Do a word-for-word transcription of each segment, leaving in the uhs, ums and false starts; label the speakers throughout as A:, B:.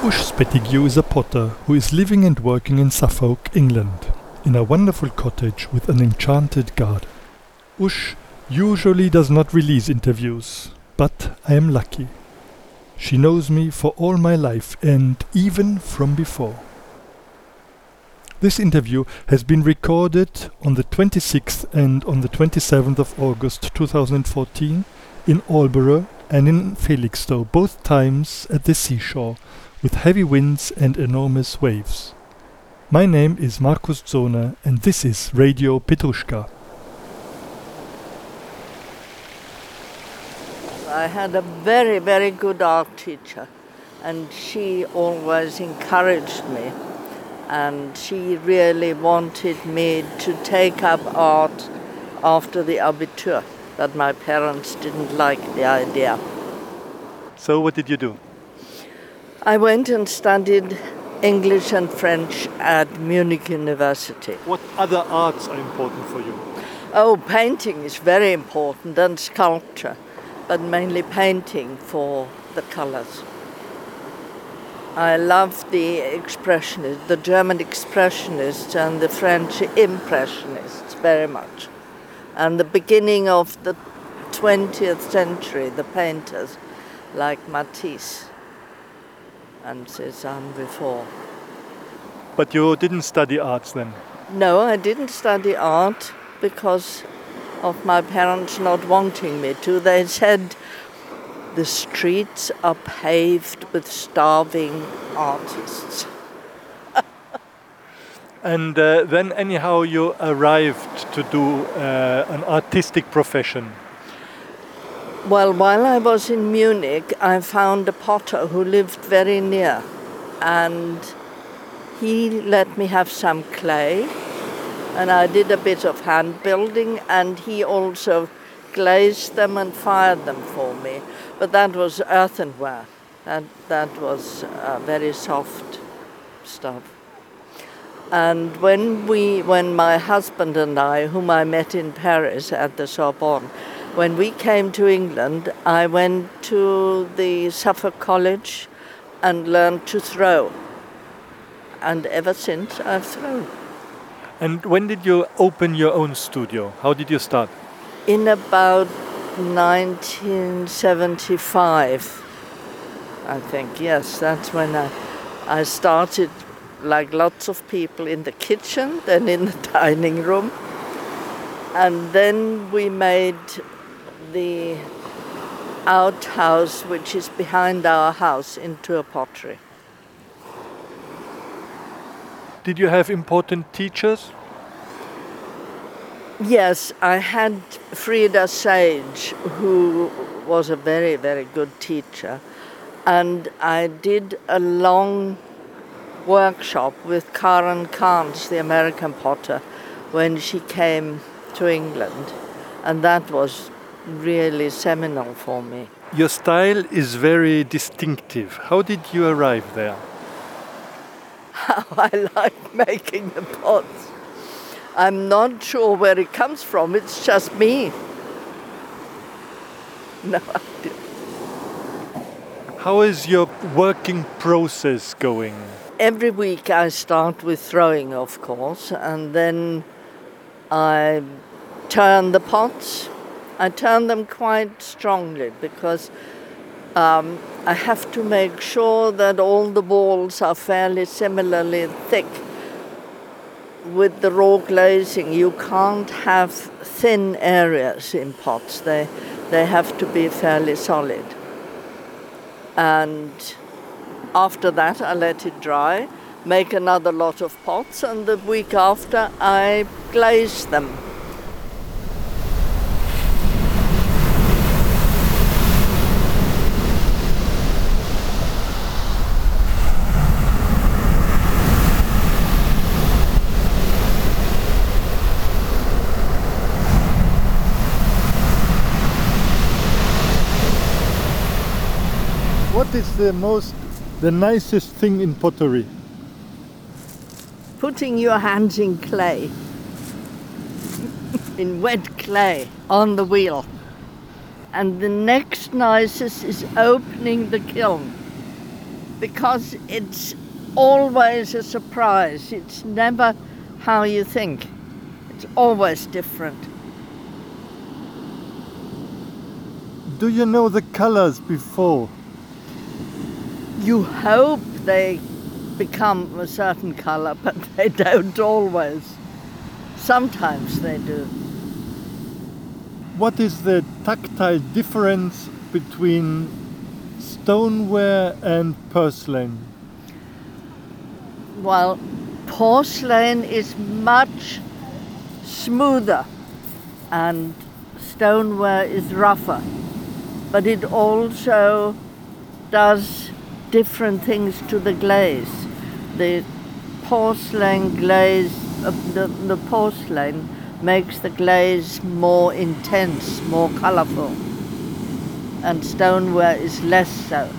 A: Ush Spetigiu is a potter who is living and working in Suffolk, England, in a wonderful cottage with an enchanted garden. Ush usually does not release interviews, but I am lucky. She knows me for all my life and even from before. This interview has been recorded on the twenty-sixth and on the twenty-seventh of August two thousand fourteen in Aldeburgh and in Felixstowe, both times at the seashore, with heavy winds and enormous waves. My name is Markus Zohner and this is Radio Petrushka.
B: I had a very, very good art teacher, and she always encouraged me, and she really wanted me to take up art after the Abitur, but my parents didn't like the idea.
A: So what did you do?
B: I went and studied English and French at Munich University.
A: What other arts are important for you?
B: Oh, painting is very important, and sculpture, but mainly painting for the colors. I love the expressionists, the German expressionists and the French impressionists very much. And the beginning of the twentieth century, the painters like Matisse and Cézanne before.
A: But you didn't study arts then?
B: No, I didn't study art because of my parents not wanting me to. They said the streets are paved with starving artists.
A: And uh, then anyhow you arrived to do uh, an artistic profession.
B: Well, while I was in Munich, I found a potter who lived very near, and he let me have some clay, and I did a bit of hand building, and he also glazed them and fired them for me. But that was earthenware. That, that was uh, very soft stuff. And when we, when my husband and I, whom I met in Paris at the Sorbonne, when we came to England, I went to the Suffolk College and learned to throw. And ever since, I've thrown.
A: And when did you open your own studio? How did you start?
B: In about nineteen seventy-five, I think. Yes, that's when I, I started, like lots of people, in the kitchen, then in the dining room. And then we made the outhouse, which is behind our house, into a pottery.
A: Did you have important teachers?
B: Yes, I had Frida Sage, who was a very, very good teacher. And I did a long workshop with Karen Carnes, the American potter, when she came to England. And that was really seminal for me.
A: Your style is very distinctive. How did you arrive there?
B: How I like making the pots. I'm not sure where it comes from. It's just me. No idea.
A: How is your working process going?
B: Every week I start with throwing, of course, and then I turn the pots. I turn them quite strongly because um, I have to make sure that all the walls are fairly similarly thick. With the raw glazing, you can't have thin areas in pots. They, they have to be fairly solid. And after that, I let it dry, make another lot of pots, and the week after, I glaze them.
A: What is the most, the nicest thing in pottery?
B: Putting your hands in clay, in wet clay, on the wheel. And the next nicest is opening the kiln because it's always a surprise. It's never how you think. It's always different.
A: Do you know the colors before?
B: You hope they become a certain color, but they don't always. Sometimes they do.
A: What is the tactile difference between stoneware and porcelain?
B: Well, porcelain is much smoother and stoneware is rougher, but it also does different things to the glaze. The porcelain glaze, uh, the, the porcelain makes the glaze more intense, more colorful, and stoneware is less so.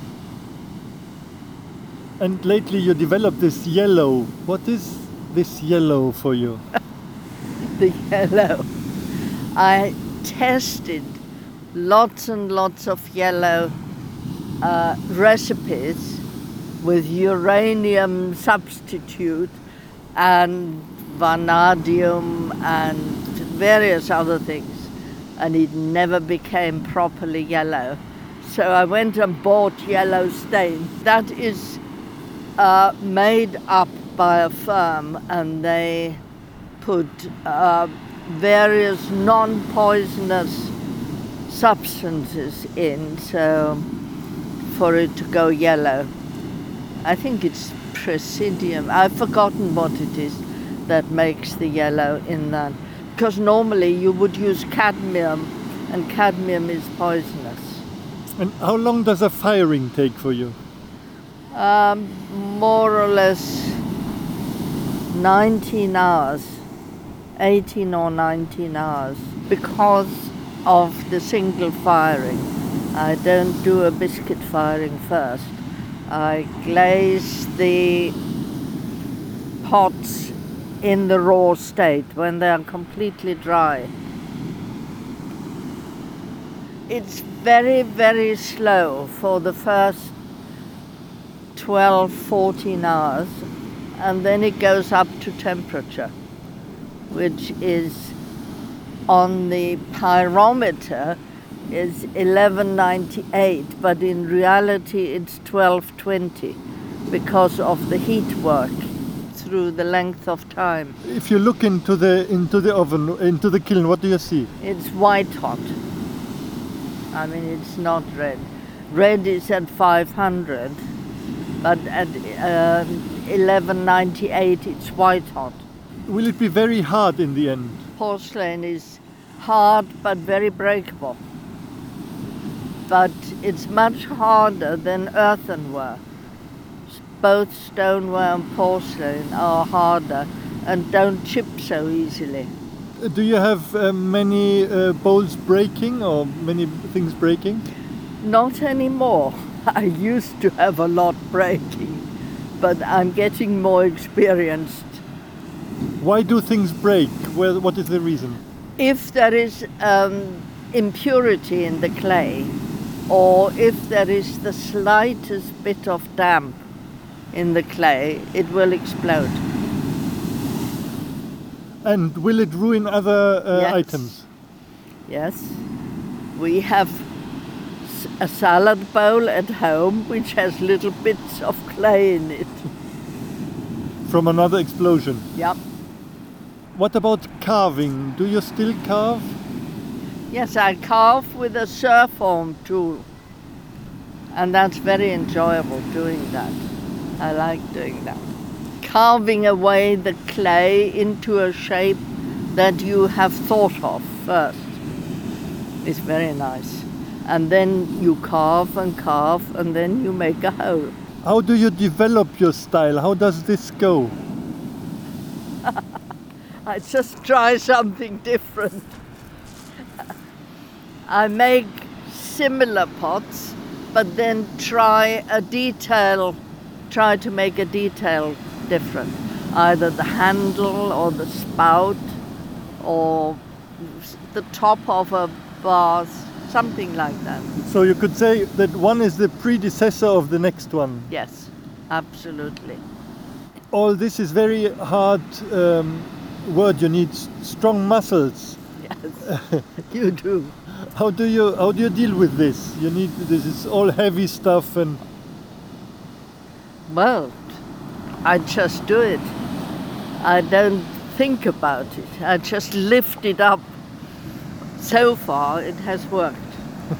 A: And lately you developed this yellow. What is this yellow for you?
B: The yellow. I tested lots and lots of yellow uh, recipes with uranium substitute and vanadium and various other things, and it never became properly yellow. So I went and bought yellow stain. That is uh, made up by a firm, and they put uh, various non-poisonous substances in, so for it to go yellow. I think it's Presidium. I've forgotten what it is that makes the yellow in that. Because normally you would use cadmium, and cadmium is poisonous.
A: And how long does a firing take for you?
B: Um, more or less nineteen hours, eighteen or nineteen hours, because of the single firing. I don't do a biscuit firing first. I glaze the pots in the raw state when they are completely dry. It's very, very slow for the first twelve, fourteen hours, and then it goes up to temperature, which is on the pyrometer is eleven ninety-eight, but in reality it's twelve twenty because of the heat work through the length of time.
A: If you look into the into the oven, into the kiln, what do you see?
B: It's white hot. I mean, it's not red. Red is at five hundred, but at uh, eleven ninety-eight it's white hot.
A: Will it be very hard in the end?
B: Porcelain is hard but very breakable. But it's much harder than earthenware. Both stoneware and porcelain are harder and don't chip so easily.
A: Do you have uh, many uh, bowls breaking or many things breaking?
B: Not anymore. I used to have a lot breaking, but I'm getting more experienced.
A: Why do things break? Well, what is the reason?
B: If there is um, impurity in the clay, or if there is the slightest bit of damp in the clay, it will explode.
A: And will it ruin other uh,
B: Yes.
A: items?
B: Yes. We have s- a salad bowl at home which has little bits of clay in it.
A: From another explosion?
B: Yep.
A: What about carving? Do you still carve?
B: Yes, I carve with a surform tool. And that's very enjoyable doing that. I like doing that. Carving away the clay into a shape that you have thought of first is very nice. And then you carve and carve and then you make a hole.
A: How do you develop your style? How does this go?
B: I just try something different. I make similar pots, but then try a detail, try to make a detail different. Either the handle or the spout or the top of a vase, something like that.
A: So you could say that one is the predecessor of the next one.
B: Yes, absolutely.
A: All this is very hard um, word. You need s- strong muscles.
B: Yes, you do.
A: How do you how do you deal with this? You need this is all heavy stuff and
B: Well, I just do it. I don't think about it. I just lift it up. So far, it has worked.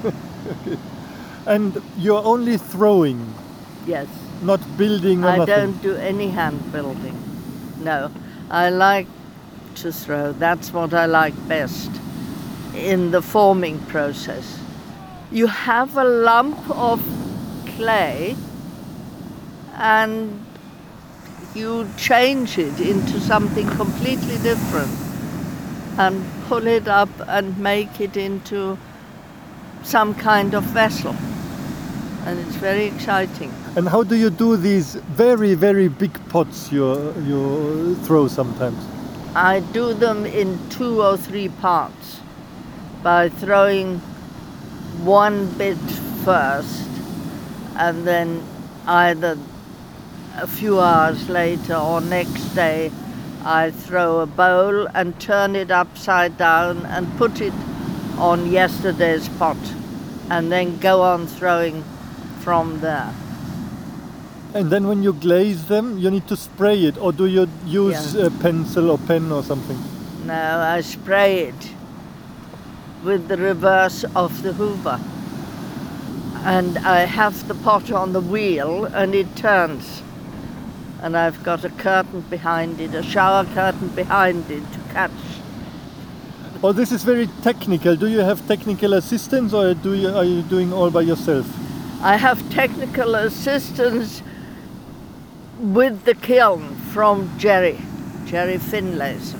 A: and you're only throwing,
B: Yes.
A: not building or
B: I
A: nothing.
B: don't do any hand building. No. I like to throw. That's what I like best in the forming process. You have a lump of clay and you change it into something completely different and pull it up and make it into some kind of vessel. And it's very exciting.
A: And how do you do these very very big pots you you throw sometimes?
B: I do them in two or three parts by throwing one bit first and then either a few hours later or next day I throw a bowl and turn it upside down and put it on yesterday's pot and then go on throwing from there.
A: And then when you glaze them, you need to spray it, or do you use
B: Yeah.
A: a pencil or pen or something?
B: No, I spray it with the reverse of the hoover. And I have the pot on the wheel and it turns. And I've got a curtain behind it, a shower curtain behind it to catch.
A: Oh, this is very technical. Do you have technical assistance, or do you are you doing all by yourself?
B: I have technical assistance with the kiln from Jerry, Jerry Finlayson.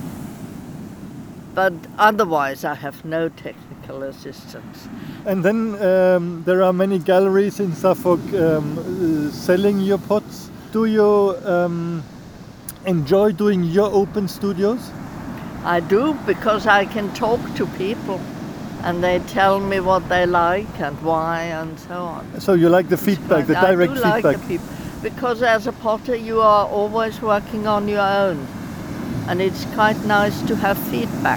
B: But otherwise I have no technical assistance.
A: And then um, there are many galleries in Suffolk um, uh, selling your pots. Do you um, enjoy doing your open studios?
B: I do, because I can talk to people and they tell me what they like and why and so on.
A: So you like the feedback, the direct
B: I do
A: feedback?
B: like the people, because as a potter you are always working on your own and it's quite nice to have feedback.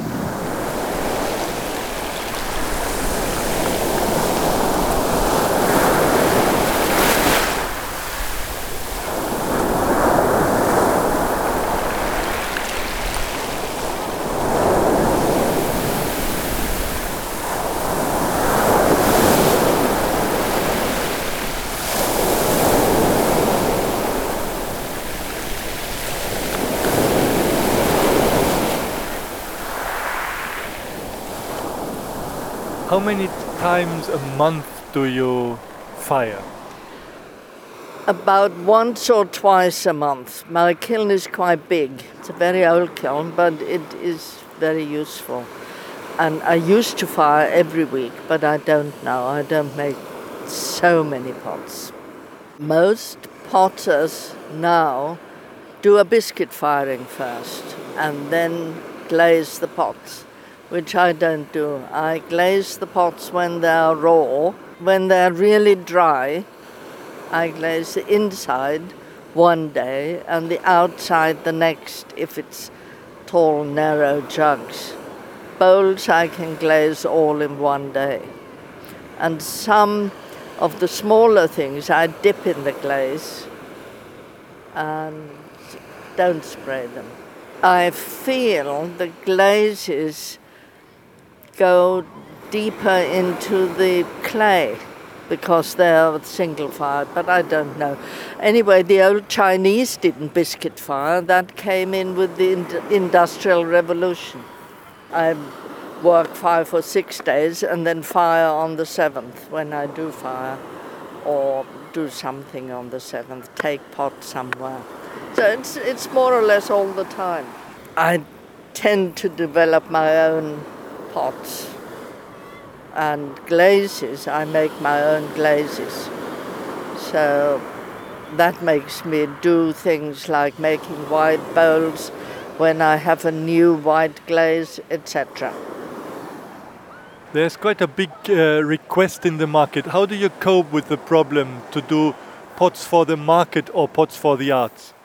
A: How many times a month do you fire?
B: About once or twice a month. My kiln is quite big. It's a very old kiln, but it is very useful. And I used to fire every week, but I don't now. I don't make so many pots. Most potters now do a biscuit firing first and then glaze the pots, which I don't do. I glaze the pots when they're raw. When they're really dry, I glaze the inside one day and the outside the next if it's tall, narrow jugs. Bowls I can glaze all in one day. And some of the smaller things I dip in the glaze and don't spray them. I feel the glazes go deeper into the clay because they're single fired, but I don't know. Anyway, the old Chinese didn't biscuit fire. That came in with the ind- Industrial Revolution. I work five or six days and then fire on the seventh when I do fire, or do something on the seventh, take pot somewhere. So it's, it's more or less all the time. I tend to develop my own pots and glazes. I make my own glazes. So that makes me do things like making white bowls when I have a new white glaze, et cetera.
A: There's quite a big uh, request in the market. How do you cope with the problem to do pots for the market or pots for the arts?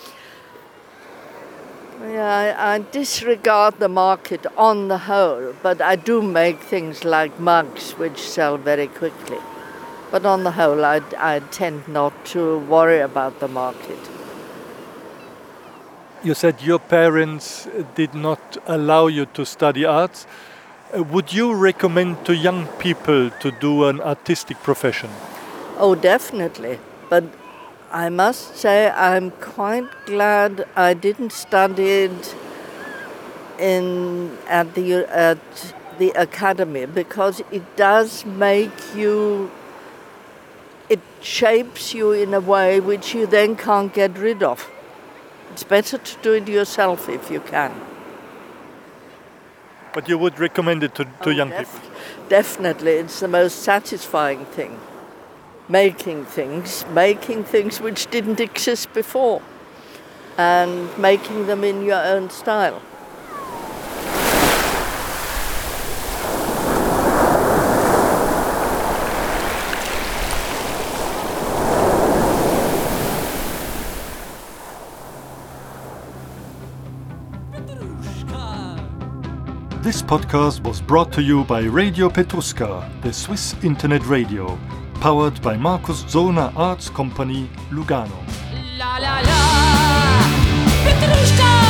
B: Yeah, I, I disregard the market on the whole, but I do make things like mugs which sell very quickly. But on the whole, I, I tend not to worry about the market.
A: You said your parents did not allow you to study arts. Uh, would you recommend to young people to do an artistic profession?
B: Oh, definitely. But I must say I'm quite glad I didn't study it in at the at the academy, because it does make you, it shapes you in a way which you then can't get rid of. It's better to do it yourself if you can.
A: But you would recommend it to, to
B: Oh,
A: young
B: def-
A: people?
B: Definitely, it's the most satisfying thing. Making things, making things which didn't exist before, and making them in your own style.
A: This podcast was brought to you by Radio Petruska, the Swiss internet radio, powered by Markus Zohner Arts Company, Lugano.
C: La la la, Petrushka!